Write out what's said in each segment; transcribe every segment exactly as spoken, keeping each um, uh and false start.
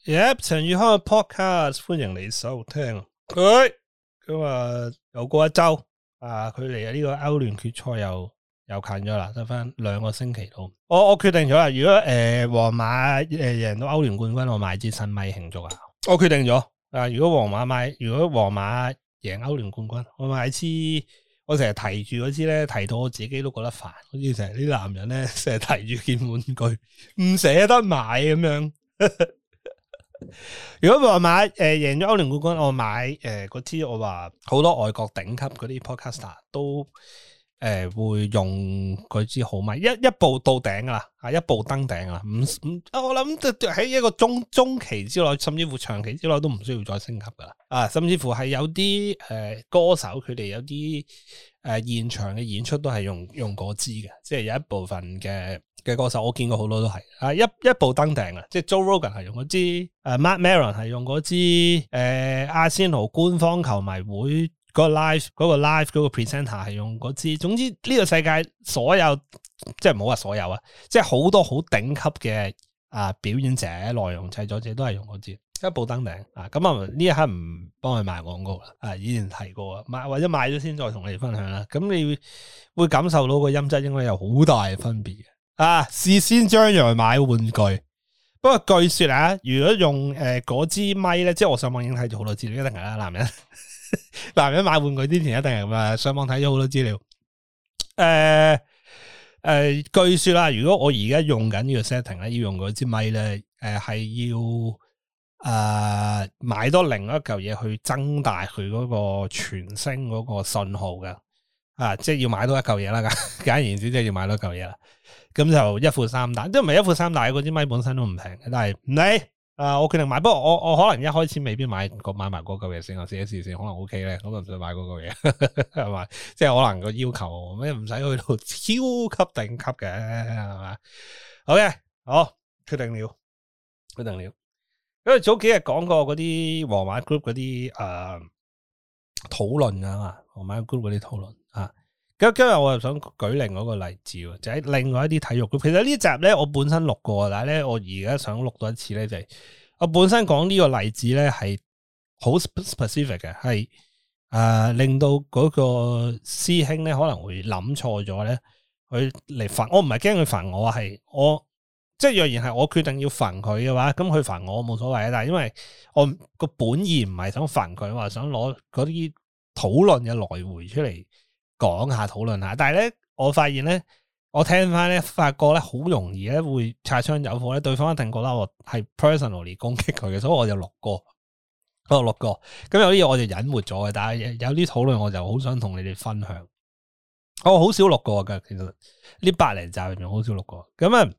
Yep， 陳宇康嘅 podcast 歡迎你收聽。佢咁啊，又過一周啊，佢離呢個歐聯決賽又又近咗啦，得翻兩個星期到。我我決定咗啦，如果誒皇馬誒贏到歐聯冠軍，我買支新米慶祝啊！我決定咗啊，如果皇馬買，如果皇馬贏歐聯冠軍，我買支。我成日提住嗰支咧，提到我自己都覺得煩，好似成日啲男人咧，成日提住件玩具，唔捨得買咁樣。如果皇馬誒贏咗歐聯冠軍，我買誒嗰支我話好多外國頂級嗰啲 podcaster 都誒、呃、會用嗰支好米，一一步到頂噶啦，啊一步登頂啦，唔唔，我諗喺一個中中期之內，甚至乎長期之內都唔需要再升級噶啦，啊，甚至乎係有啲誒、呃、歌手佢哋有啲誒、呃、現場嘅演出都係用用嗰支嘅，即係有一部分嘅。嘅歌手我見過好多都係啊，一一步登頂啊！即係 Joe Rogan 係用嗰支，誒 Mark Maron 係用嗰支，誒阿仙奴官方球迷會嗰個 live 嗰個 live 嗰個 presenter 係用嗰支。總之呢個世界所有即係唔好話所有啊，即係好多好頂級嘅啊表演者、內容製作者都係用嗰支一步登頂啊！咁啊呢一刻唔幫佢賣廣告啦，啊以前提過啊，買或者買咗先再同你哋分享啦。咁你會感受到個音質應該有好大嘅分別嘅。啊！事先張揚買玩具，不過據說啊，如果用誒嗰支咪咧，即係我上網已經睇咗好多資料，一定係啦，男人男人買玩具之前一定係咁啊，上網睇咗好多資料。誒、呃、誒、呃，據說啦，如果我而家用緊呢個 setting 咧，要用嗰支咪咧，誒、呃、係要誒、呃、買多另一嚿嘢去增大佢嗰個傳聲嗰個信號嘅。啊，即係要買多一嚿嘢啦，簡而言之，即係要買多一嚿嘢啦。咁就一副三大，都唔係一副三大，嗰支咪本身都唔平嘅。但係唔理，啊，我決定買。不過我我可能一開始未必買個買埋嗰嚿嘢先，我試一試先，可能 OK 咧。咁就唔使買嗰嚿嘢，係嘛？即係可能個要求咩唔使去到超級頂級嘅，係嘛 ？OK，好，決定了，決定了。因為早幾日講過嗰啲皇馬 group 嗰啲誒討論啊嘛，皇馬 group 嗰啲討論。啊，咁今日我又想舉另外一個例子，就喺另外一啲體育。其實呢集咧，我本身錄過，但係咧，我而家想錄多一次咧，就係我本身講呢個例子咧，係好 specific 嘅，係誒令到嗰個師兄咧可能會諗錯咗咧，佢嚟煩我，唔係驚佢煩我，係我即係若然係我決定要煩佢嘅話，咁佢煩我冇所謂啊。但係因為我個本意唔係想煩佢，我係想攞嗰啲討論嘅來回出嚟。講下討論下，但係咧，我發現咧，我聽翻咧，發覺咧，好容易咧會擦槍走火咧，對方一定覺得我係 personally 攻擊佢嘅，所以我就錄過，我錄過。咁有啲嘢我就隱瞞咗嘅，但係有啲討論我就好想同你哋分享。我好少錄過㗎，其實呢百零集入面好少錄過。咁啊，誒、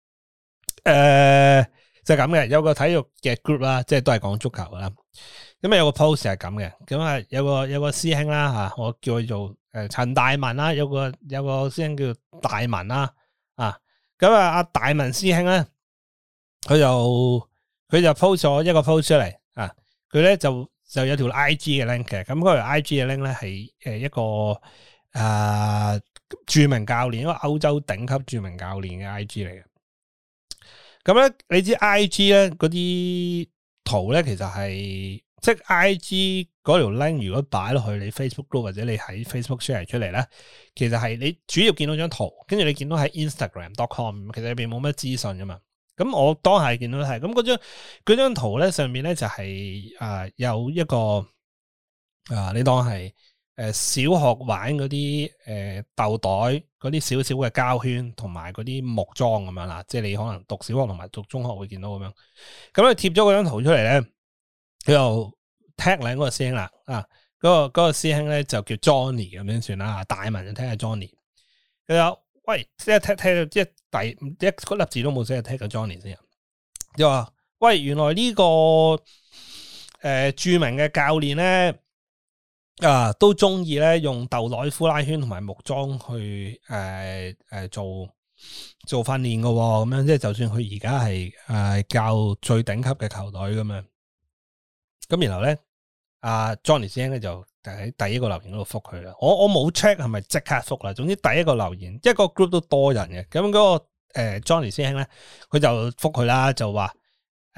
呃、就咁、是、嘅，有個體育嘅 group 啦，即係都係講足球啦。咁啊有個 post 係咁嘅，咁啊有個有個師兄啦吓，我叫佢做誒陳大文啦，有個有個師兄叫大文啦，啊，咁啊阿大文師兄咧，佢就佢就 post 咗一個 post 出嚟啊，佢咧就就有條 I G 嘅 link 嘅，咁嗰條 I G 嘅 link 咧係誒一個誒、呃、著名教練，一個歐洲頂級著名教練嘅 I G 嚟嘅。咁咧你知 I G 咧嗰啲圖咧其實係。即係 I G 嗰條 link 如果擺落去你 Facebook group 或者你喺 Facebook share 出嚟咧，其實係你主要見到張圖，跟住你見到喺 Instagram dot com， 其實入邊冇乜資訊噶嘛。咁我當係見到係，咁嗰張嗰張圖咧上面咧就係、是、誒、呃、有一個誒、呃、你當係誒小學玩嗰啲誒豆袋嗰啲少少嘅膠圈，同埋嗰啲木樁咁樣啦。即係你可能讀小學同埋讀中學會見到咁樣。咁你貼咗嗰張圖出嚟咧。佢又 tag 兩個師兄啦，啊，嗰、那個嗰、那個師兄咧就叫 Johnny 咁樣算啦，大文就聽下 Johnny。佢有喂，即係 tag tag 即係第一嗰粒字都冇寫 tag 個 Johnny 先。又話喂，原來呢、這個誒、呃、著名嘅教練咧啊，都中意咧用豆袋、呼拉圈同埋木樁去誒誒、呃呃、做做訓練噶，咁樣即係就算佢而家係誒教最頂級嘅球隊咁樣。咁然後咧，阿 Johnny 師兄咧就喺第一個留言嗰度覆佢啦。我我冇 check 係咪即刻覆啦。總之第一個留言，即係個 group 都多人嘅。咁嗰個誒 Johnny 師兄咧，佢就覆佢啦，就話誒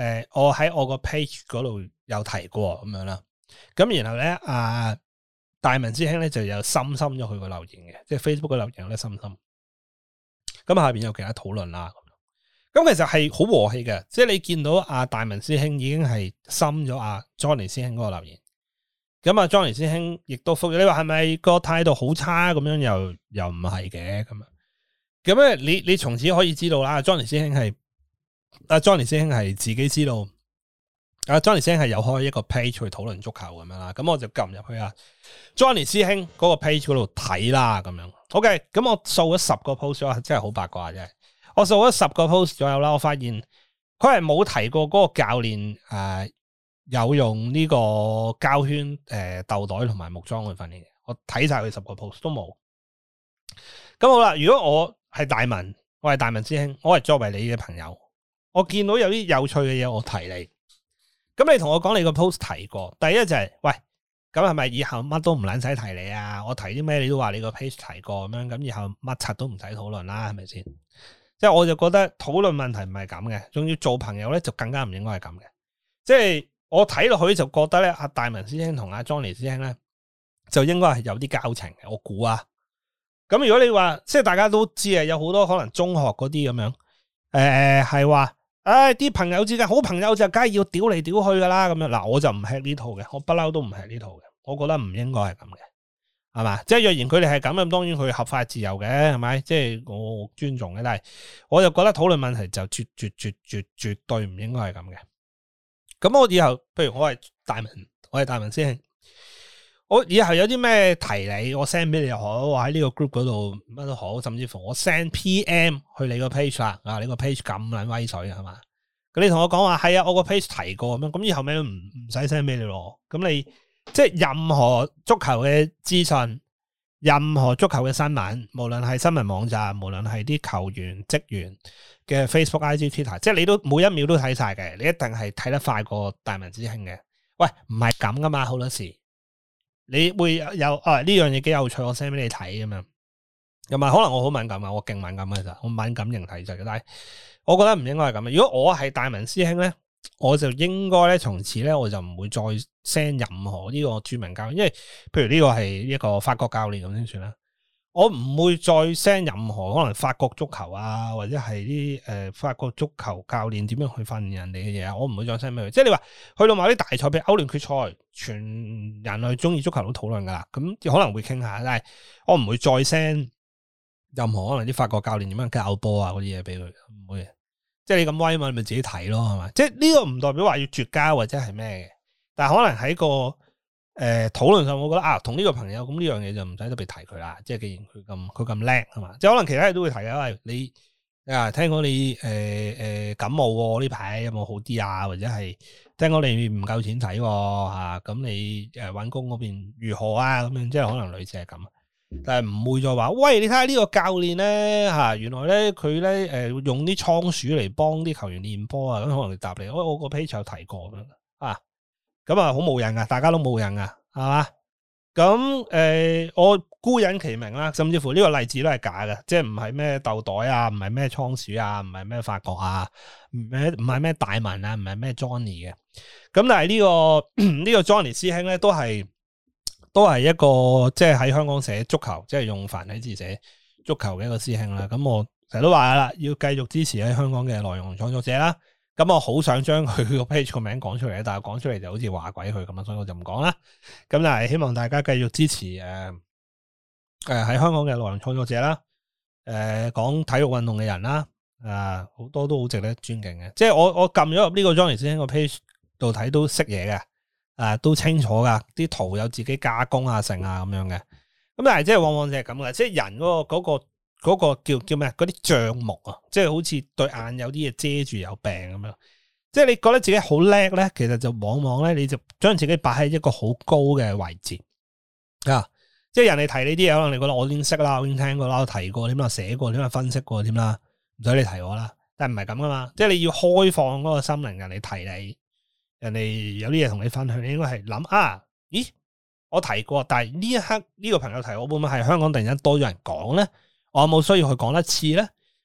誒，我喺我個 page 嗰度有提過咁樣啦。咁然後咧，阿大文師兄咧就有深深咗佢個留言嘅，即係 Facebook 嘅留言有咧深深。咁下邊有其他討論啦。咁其實係好和氣嘅，即係你見到阿大文師兄已經係深咗阿 Johnny 師兄嗰個留言。咁啊，Johnny 師兄亦都復咗，你話係咪個態度好差咁樣？又又唔係嘅咁啊？咁咧，你你從此可以知道啦。Johnny 師兄係阿 Johnny 師兄係自己知道，阿 Johnny 師兄係有開一個 page 去討論足球咁樣啦。咁我就撳入去啊 Johnny 師兄嗰個 page 嗰度睇啦，咁樣。OK，咁我掃咗十個 post 啊，真係好八卦啫。我掃咗十個 post 左右啦，我發現佢係冇提過嗰個教練誒。呃有用呢個膠圈誒豆袋同埋木樁去訓練嘅，我睇晒佢十個 post 都冇。咁好啦，如果我係大文，我係大文師兄，我係作為你嘅朋友，我見到有啲有趣嘅嘢，我提你。咁你同我講你個 post 提過，第一就係、是、喂，咁係咪以後乜都唔撚使提你啊？我提啲咩你都話你個 page 提過咁樣，咁以後乜柒都唔使討論啦，係咪先？即係我就覺得討論問題唔係咁嘅，仲要做朋友咧就更加唔應該係咁嘅，即係。我睇落去就覺得咧，阿大文師兄同阿 Johnny 師兄咧，就應該係有啲交情嘅。我估啊，咁如果你話即係大家都知啊，有好多可能中學嗰啲咁樣，誒係話，唉啲朋友之間好朋友就梗係要屌嚟屌去噶啦，咁樣嗱，我就唔吃呢套嘅，我不嬲都唔吃呢套嘅，我覺得唔應該係咁嘅，係嘛？即係若然佢哋係咁，咁當然佢合法自由嘅，係咪？即係我尊重嘅，但係我就覺得討論問題就絕絕絕絕絕對唔應該係咁嘅。咁我以後，譬如我係大文，我係大文師兄，我以後有啲咩提你，我 send 俾你又好，我喺呢個 group 嗰度乜都好，甚至乎我 send P M 去你個 page 啦，啊，你個 page 咁撚威水係嘛？咁你同我講話係啊，我個 page 提過咁樣，咁以後咩都唔唔使 send 俾你咯。咁你即係任何足球嘅資訊，任何足球嘅新聞，無論係新聞網站，無論係啲球員職員嘅 Facebook、I G、Twitter， 即係你都每一秒都睇晒嘅，你一定係睇得快過大文師兄嘅。喂，唔係咁噶嘛，好多時你會有啊呢樣嘢幾有趣，我 send 俾你睇咁樣。又咪可能我好敏感啊，我勁敏感嘅咋，我敏感型體質嘅，但係我覺得唔應該係咁嘅。如果我係大文師兄咧，我就應該咧從此咧我就唔會再 send 任何呢個著名教練，因為譬如呢個係一個法國教練咁先算啦。我唔會再 send 任何可能法國足球啊，或者係啲誒法國足球教練點樣去訓練人哋嘅嘢啊，我唔會再 send 俾佢。即係你話去到某啲大賽，譬如歐聯決賽，全人類中意足球都討論噶啦，咁可能會傾下，但係我唔會再 send 任何可能啲法國教練點樣教波啊嗰啲嘢俾佢，唔會。即係你咁威嘛，你咪自己睇咯，係嘛？即係呢個唔代表話要絕交或者係咩嘅，但係可能喺個。誒，討論上我覺得啊，同呢個朋友咁呢樣嘢就唔使特別提佢啦。即係既然佢咁佢咁叻係嘛，即係可能其他嘢都會提嘅。喂，你啊，聽講你誒誒、呃、感冒呢排有冇好啲啊？或者係聽講你唔夠錢使吓，咁、啊、你誒搵工嗰邊如何啊？咁樣即係可能類似係咁，但係唔會再話喂，你睇下呢個教練咧吓，原來咧佢咧誒用啲倉鼠嚟幫啲球員練波啊，咁可能答你，我我個 page 有提過咁樣啊。咁啊，好冇癮噶，大家都冇癮噶，係嘛？咁誒、呃，我姑隱其名啦，甚至乎呢個例子都係假嘅，即係唔係咩豆袋啊，唔係咩倉鼠啊，唔係咩法國啊，唔係唔係咩大文啊，唔係咩 Johnny 嘅。咁但係呢、這個呢、這個 Johnny 師兄咧，都係都係一個即係喺香港寫足球，即係用繁體字寫足球嘅一個師兄啦。咁我成日都話啦，要繼續支持喺香港嘅內容創作者啦。咁我好想將佢個 page 個名講出嚟，但係講出嚟就好似話鬼佢咁樣，所以我就唔講啦。咁但係希望大家繼續支持誒誒喺香港嘅內容創作者啦，誒、呃、講體育運動嘅人啦，啊好多都好值得尊敬嘅。即係我我撳咗入呢個 Johnny 師兄個 page 度睇都識嘢嘅，啊都清楚噶，啲圖有自己加工啊成啊咁樣嘅。咁但係即係往往就係咁嘅，即係人嗰個嗰個。嗰個叫叫咩？嗰啲帳目啊，即係好似對眼有啲嘢遮住有病咁樣。即係你覺得自己好叻咧，其實就往往咧，你就將自己擺喺一個好高嘅位置啊！即係人哋提呢啲嘢，可能你覺得我已經識啦，我已經聽過啦，我提過，點啊寫過，點啊分析過，點啦，唔使你提我啦。但係唔係咁噶嘛，即係你要開放嗰個心靈，人哋提你，人哋有啲嘢同你分享，你應該係諗啊，咦，我提過，但係呢一刻呢個朋友提我，會唔會係香港突然間多咗人講咧？我有冇需要去講一次咧？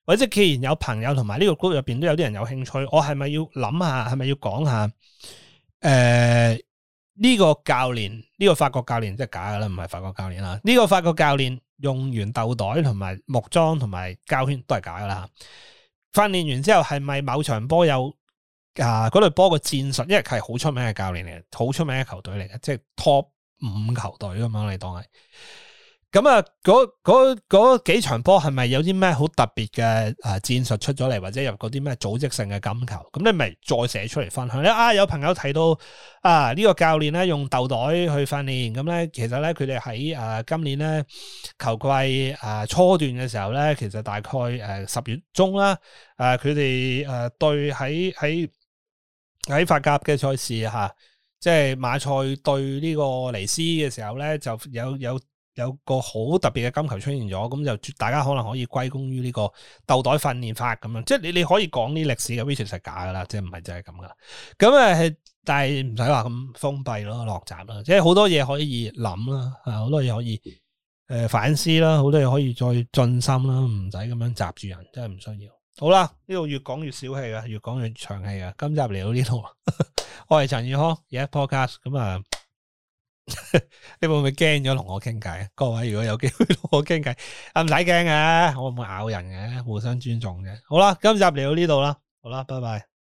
或者既然有朋友同埋呢個 group 入邊都有啲人有興趣，我係咪要諗下，係咪要講下？誒、呃，呢、這個教練，呢、這個法國教練即係假噶啦，唔係法國教練啦。呢、這個法國教練用完豆袋同埋木樁同埋膠圈都係假噶啦。訓練完之後係咪某場波有啊？嗰隊波個戰術，因為佢係好出名嘅教練嚟嘅，好出名嘅球隊嚟嘅，即係 top 五球隊咁樣，你當係。咁啊，嗰嗰嗰幾場波係咪有啲咩好特別嘅誒戰術出咗嚟，或者有嗰啲咩組織性嘅金球？咁你咪再寫出嚟分享咧。啊，有朋友提到啊，呢個教練咧用豆袋去訓練，咁咧其實咧佢哋喺誒今年咧球季誒初段嘅時候咧，其實大概誒十月中啦，誒佢哋誒對喺喺喺法甲嘅賽事吓，即係馬賽對呢個尼斯嘅時候咧，就有有。有個好特別嘅金球出現咗，咁就大家可能可以歸功於呢個豆袋訓練法咁樣，即係你你可以講啲歷史嘅 which 係假噶啦，即係唔係真係咁噶啦。咁誒，但係唔使話咁封閉咯，落閘啦，即係好多嘢可以諗啦，啊好多嘢可以誒、呃、反思啦，好多嘢可以再進心啦，唔使咁樣閘住人，真係唔需要。好啦，呢度越講越小氣啊，越講越長氣啊，今集嚟到呢度，我係陳宇康，而家 podcast 咁啊。你會唔會驚咗同我傾偈？各位如果有機會同我傾偈，啊唔使驚嘅，我唔會咬人嘅，互相尊重嘅。好啦，今集嚟到呢度啦，好啦，拜拜。